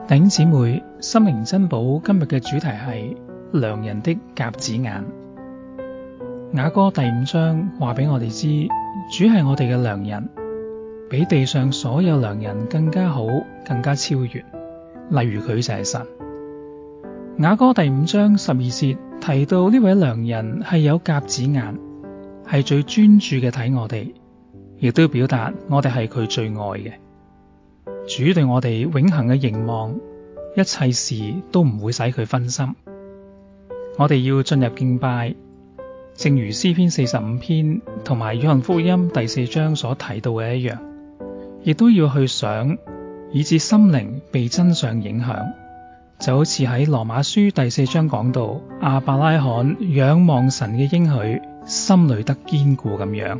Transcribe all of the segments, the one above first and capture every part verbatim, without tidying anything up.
弟兄姊妹，心靈珍寶今日嘅主題係良人的鴿子眼。雅歌第五章話俾我哋知，主係我哋嘅良人，比地上所有良人更加好，更加超越。例如佢就係神。雅歌第五章十二節提到呢位良人係有鴿子眼，係最專注嘅睇我哋，亦都表達我哋係佢最愛嘅。主對我哋永恆嘅凝望，一切事都唔會使佢分心。我哋要進入敬拜，正如詩篇四十五篇同埋約翰福音第四章所提到嘅一樣，亦都要去想，以致心靈被真相影響，就好似喺羅馬書第四章講到，亞伯拉罕仰望神嘅應許，心裡得堅固咁樣。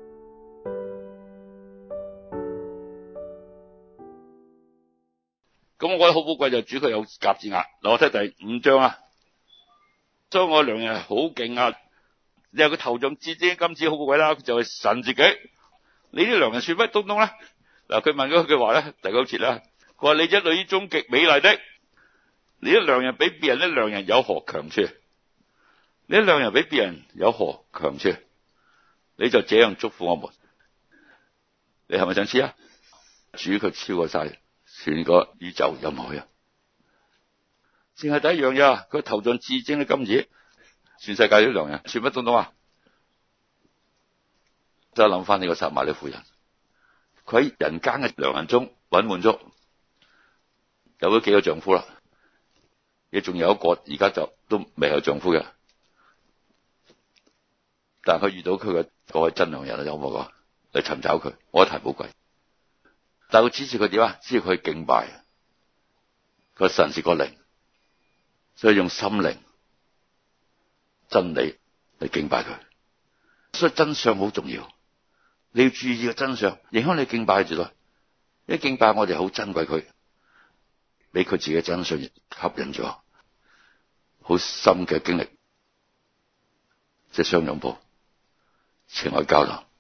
咁我覺得好寶貴，就主佢有鴿子眼。嗱，我睇第五章啊，所以我良人係好勁啊！你話佢頭像至精金子好寶貴啦，佢就係神自己。你啲良人算乜東東咧？嗱，佢問咗句話咧，第九節啦，佢話你一女中極美麗的，你啲良人比別人啲良人有何強處？你啲良人比別人有何強處？你就這樣祝福我們。你係咪想知啊？主佢超過晒全個宇宙任何人，淨係第一樣嘢，佢頭像至精嘅金子，全世界啲良人算乜東東啊？就諗翻呢個撒瑪利亞婦人，佢喺人間嘅良人中揾滿足，有咗幾個丈夫啦，亦仲有一個而家就都未有丈夫嘅，但係佢遇到佢嘅嗰位真良人啊，有冇講嚟尋找佢？我覺得太寶貴。但係佢指示佢點啊？指示佢敬拜，個神是個靈，所以用心靈、真理嚟敬拜佢。所以真相好重要，你要注意個真相，影響你敬拜住咯。一敬拜我哋好珍貴佢，俾佢自己真相吸引咗，好深嘅經歷，即係相擁抱、情愛交流，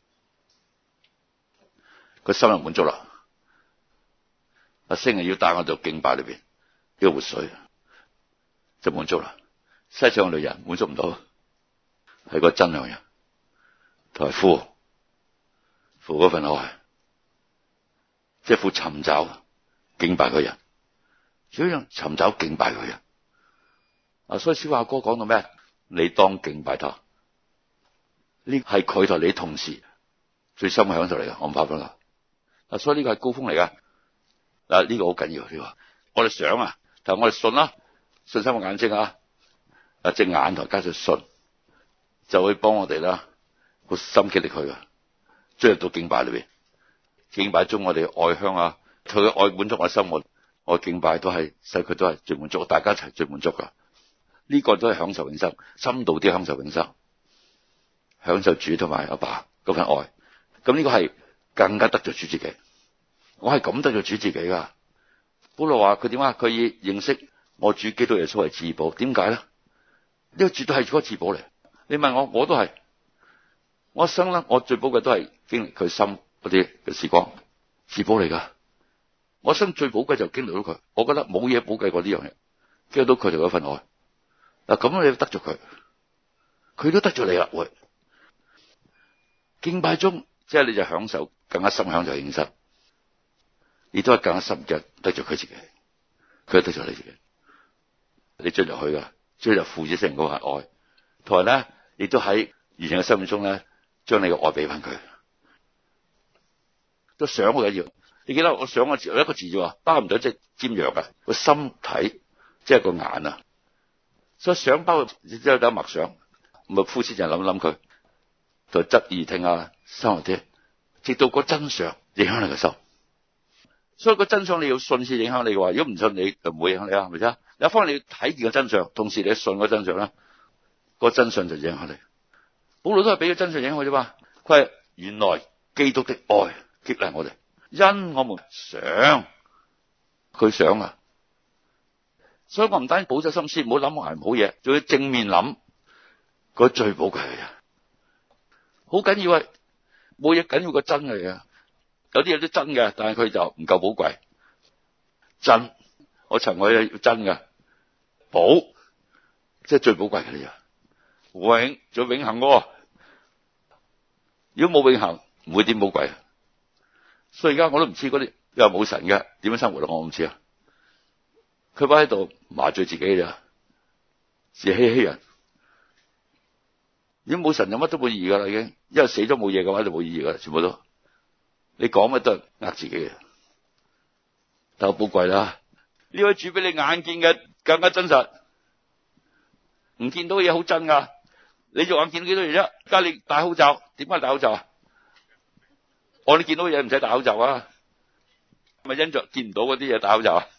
個心就滿足啦。阿星啊，要帶我到敬拜裏邊，呢個活水就滿足啦。世上嘅女人滿足唔到，係個真良人，同埋父父嗰份愛，即係父尋找敬拜嘅人，主要尋找敬拜嘅人。啊，所以小雅歌講到咩？你當敬拜他，呢係佢同你同時最深嘅享受嚟嘅，我唔怕講啦。啊，所以呢個係高峰嚟噶。嗱，呢個好緊要，你話我哋想啊，但係我哋信啦，信心嘅眼睛啊，啊隻眼頭加上信，就會幫我哋啦，好心激力佢噶，進入到敬拜裏邊，敬拜中我哋愛香啊，佢嘅愛滿足我心，我我敬拜都係使佢都係最滿足，大家一齊最滿足噶，呢、這個都係享受永生，深度啲享受永生，享受主同埋阿爸嗰份愛，咁呢個係更加得着主自己。我係咁得咗主自己噶。保羅話佢點啊？佢以認識我主基督耶穌為至寶。點解咧？呢個絕對係嗰個至寶嚟。你問我，我都係。我一生咧，我最寶貴都係經歷佢心嗰啲嘅時光，至寶嚟噶。我一生最寶貴就經歷到佢。我覺得冇嘢寶貴過呢樣嘢，經歷到佢哋嗰份愛。嗱，咁你得咗佢，佢都得咗你啦。會敬拜中，即係你就享受更加深享受認識。你都係更加深嘅得着佢自己，佢得着你自己，你進入去噶，進入父子聖嗰份愛，同埋咧，亦都喺完全嘅生命中咧，將你嘅愛俾翻佢。都想好緊要，你記得我想個字，有一個字啫，包唔到即係尖銳噶，個心體即係個眼啊，所以想包只有得默想，唔係膚淺就諗諗佢，就側耳聽啊，深入啲，直到個真相影響你嘅心。所以個真相你要信先影響你嘅話，如果唔信你就唔會影響你啊，係咪先？有一方面你要睇見個真相，同時你信個真相啦，個真相就影響你。保羅都係俾個真相影響啫嘛。佢係原來基督的愛激勵我哋，因我們想佢想啊。所以我唔單止保守心思，唔好諗埋唔好嘢，仲要正面諗嗰最寶貴嘅嘢，好緊要啊！冇嘢緊要過真嘅嘢。有啲嘢都真嘅，但係佢就唔夠寶貴。真我尋我係真㗎，寶，即係最寶貴嘅呢樣，永仲永恆喎。如果冇永恆，唔會點寶貴。所以而家我都唔知嗰啲又冇神嘅點樣生活啦，我唔知啊。佢擺喺度麻醉自己咋，自欺欺人。如果冇神，有乜都冇意義噶啦，已經，因為死咗冇嘢嘅話就冇意義噶啦，全部都。你講乜都係呃自己嘅，但係寶貴啦。呢位主比你眼見嘅更加真實，唔見到嘅嘢好真噶。你肉眼見到幾多嘢啫？而家你戴口罩，點解戴口罩啊？我哋見到嘅嘢唔使戴口罩啊，咪因着見唔到嗰啲嘢戴口罩啊？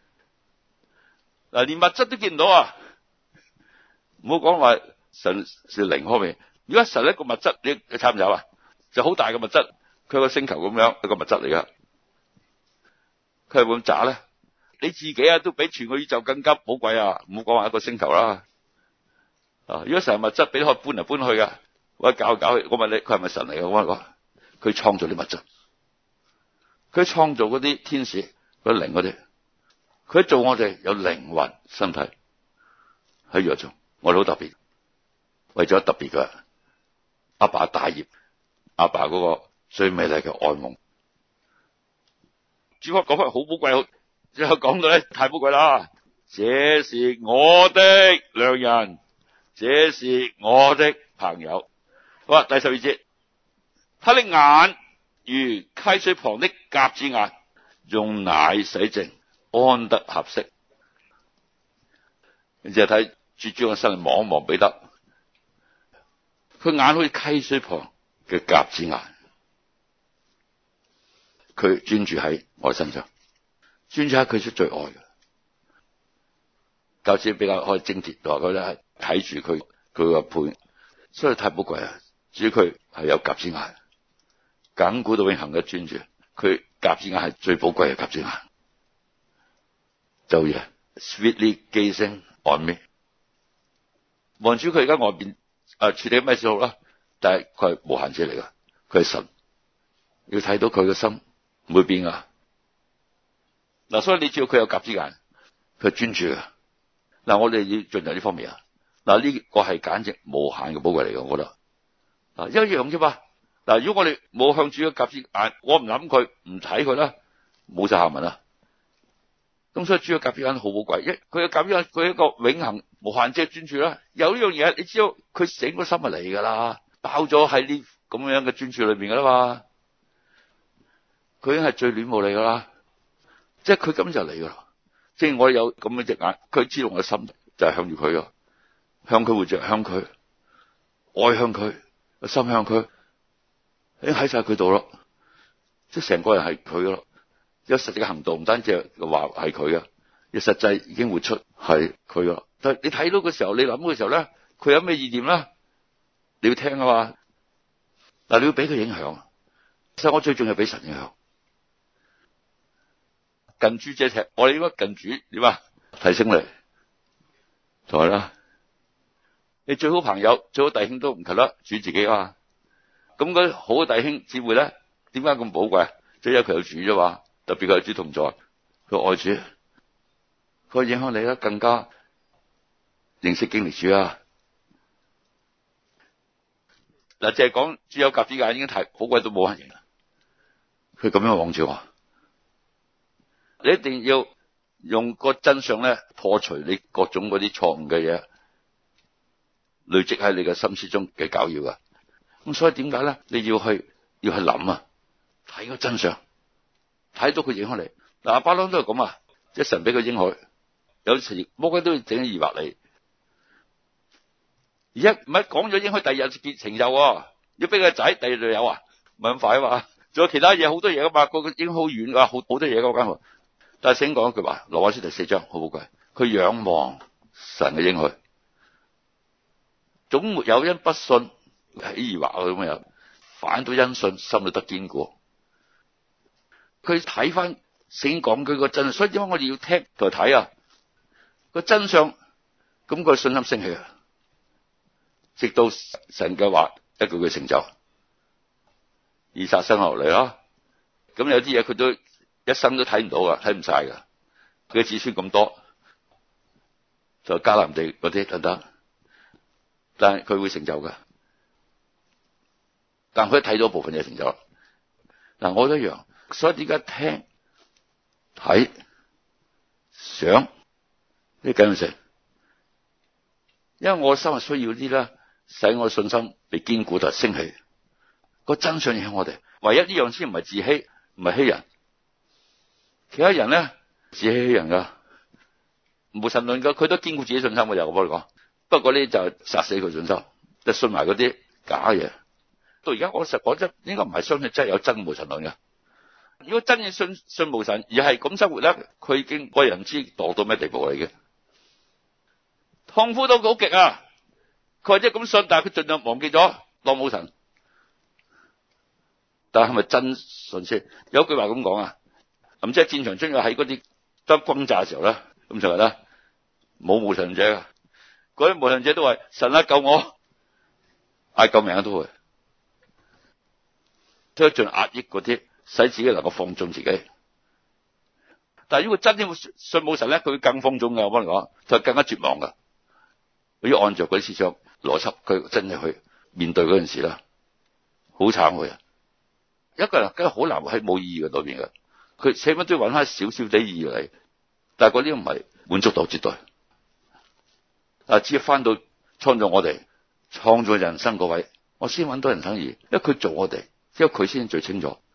嗱，連物質都見唔到啊！唔好講話神是靈方面，如果神一個物質，你你參唔參啊？就好大嘅物質，佢個星球咁樣一個物質嚟噶，佢係會咁渣咧？你自己啊，都比全個宇宙更加寶貴啊！唔好講話一個星球啦。啊，如果神係物質，俾佢搬嚟搬去噶，或者搞嚟搞去，我問你，佢係咪神嚟噶？我話佢創造啲物質，佢創造嗰啲天使、嗰啲靈嗰啲。佢做我哋有靈魂身體喺宇宙中，我哋好特別，為咗特別嘅阿爸大業，阿爸嗰個最美麗嘅愛夢。主角講翻好寶貴，最後講到咧太寶貴啦。這是我的良人，這是我的朋友。好啦，第十二節，他的眼如溪水旁的鴿子眼，用奶洗淨，安得合適。你就睇主主嘅身嚟望一望彼得，佢眼好似溪水旁嘅鴿子眼，佢專注喺我身上，專注喺佢出最愛嘅。教師比較可以精鐵，話佢咧係睇住佢佢個配，所以太寶貴啊！至於佢係有鴿子眼，亙古到永恆嘅專注，佢鴿子眼係最寶貴嘅鴿子眼。就嘢 sweetly gazing on me， 望住佢而家外邊誒處理咩事好啦，但係佢係無限者嚟噶，佢係神，要睇到佢嘅心唔會變噶。嗱，所以你知道佢有鴿子眼，佢係專注噶。嗱，我哋要進入呢方面啊。嗱，呢個係簡直無限嘅寶貴嚟噶，我覺得。嗱，一樣啫嘛。嗱，如果我哋冇向住個鴿子眼，我唔諗佢，唔睇佢啦，冇晒下文啦。咁所以主嘅鴿子眼好寶貴，一佢嘅鴿子眼佢一個永恆無限者專注啦。有呢樣嘢，你知道佢整個心係嚟噶啦，爆咗喺呢咁樣嘅專注裏面噶啦嘛。佢已經係最戀慕你噶啦，即係佢根本就嚟噶啦。即係我有咁樣隻眼，佢知道我嘅心就係向住佢噶，向佢活着，向佢愛向佢，心向佢，已經喺晒佢度咯。即係成個人係佢咯。有實際嘅行動，唔單止係話係佢嘅，亦實際已經活出係佢噶。但係你睇到嘅時候，你諗嘅時候咧，佢有咩意念咧？你要聽啊嘛。嗱，你要俾佢影響。其實我最重要俾神影響。近朱者赤，我哋應該近主點啊？提升你，就係啦。你最好朋友、最好弟兄都唔及得主自己啊。咁嗰啲好嘅弟兄姊妹咧，點解咁寶貴？即係因為佢有主啫嘛。特別佢有主同在，佢愛主，佢影響你咧，更加認識經歷主啊！嗱，淨係講主有鴿子眼已經太寶貴到冇人認啦。佢咁樣望住我，你一定要用個真相咧破除你各種嗰啲錯誤嘅嘢，累積喺你嘅心思中嘅攪擾噶。咁所以點解咧？你要去要去諗啊，睇個真相。睇到佢影響你，嗱，亞伯拉罕都係咁啊，即係神俾佢應許，有時魔鬼都要整啲疑惑你。而家唔係講咗應許，第二日結成就，要俾個仔，第二日就有啊，唔係咁快啊嘛。仲有其他嘢，好多嘢噶嘛，個個應許好遠噶，好好多嘢噶間乎。但係聖經講一句話，羅馬書第四章好寶貴，佢仰望神嘅應許，總沒有因不信起疑惑咁樣，反倒因信心裏得堅固。佢睇翻聖經講佢個真相，所以點解我哋要聽同睇啊？個真相，咁個信心升起啊！直到神嘅話一句句成就，以撒生落嚟啦。咁有啲嘢佢都一生都睇唔到噶，睇唔晒噶。 佢嘅子孫咁多，就迦南地嗰啲等等，但係佢會成就㗎。但佢睇到部分嘢成就。嗱，我都一樣，所以點解聽、睇、想呢緊要性？因為我心係需要啲咧，使我信心被堅固同升起。個真相影響我哋，唯一呢樣先唔係自欺，唔係欺人。其他人咧自欺欺人噶，無神論噶，佢都堅固自己信心嘅。又我幫你講，不過呢就殺死佢信心，就信埋嗰啲假嘢。到而家我實講真，應該唔係相信真係有真無神論嘅。如果真嘅信信無神，而係咁生活咧，佢已經為人知墮到咩地步嚟嘅，痛苦到好極啊！佢或者咁信，但係佢盡量忘記咗當冇神。但係係咪真信先？有句話咁講啊，咁即係戰場中要喺嗰啲得轟炸嘅時候咧，咁就係咧冇無神者噶，嗰啲無神者都話神啊救我，嗌救命啊都會，都盡壓抑嗰啲，使自己能夠放縱自己。但係如果真正信冇神咧，佢會更放縱噶。我幫你講，就更加絕望噶。佢要按照嗰啲思想邏輯，佢真係去面對嗰件事啦，好慘佢啊！一個人梗係好難喺冇意義嘅裏邊嘅，佢起碼都要揾翻少少啲意義嚟，但係嗰啲唔係滿足到絕對。啊，只要翻到創造我哋、創造人生嗰位，我先揾到人生意義，因為佢做我哋，只有佢先最清楚。